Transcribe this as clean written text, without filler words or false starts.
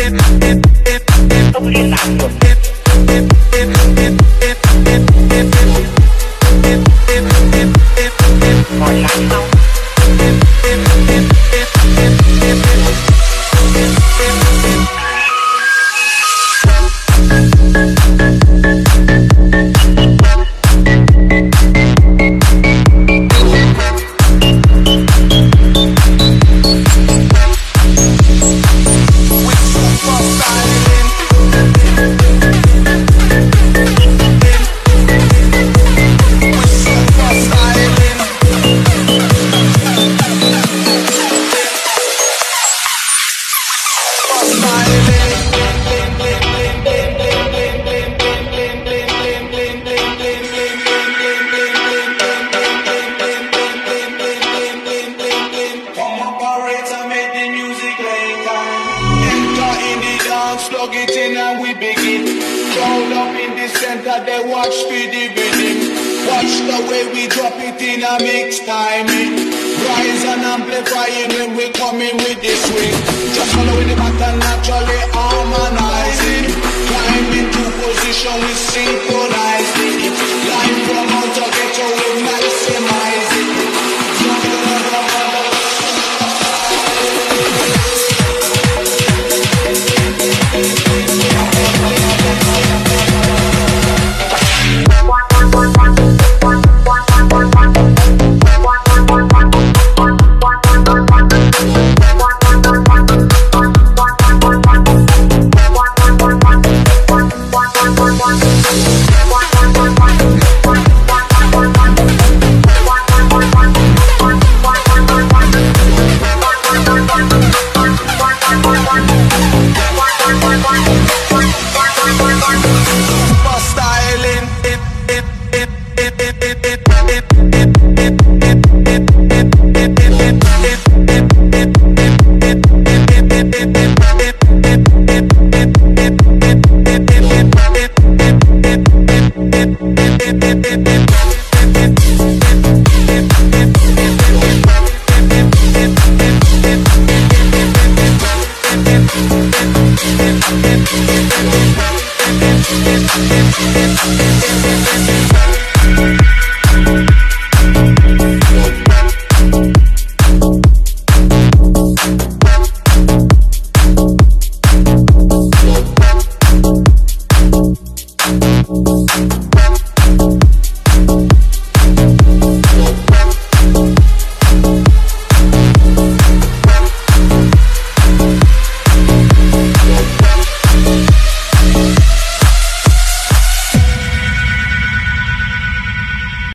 都不是男的。好难操。 Plug it in and we begin. Crowd up in the center, they watch speedy rhythm. Watch the way we drop it in a mix timing. Rise and amplifying when we coming with the swing. Just following the pattern, naturally harmonizing. Climb into position, we synchronize it. Line from out to ghetto, we maximize it.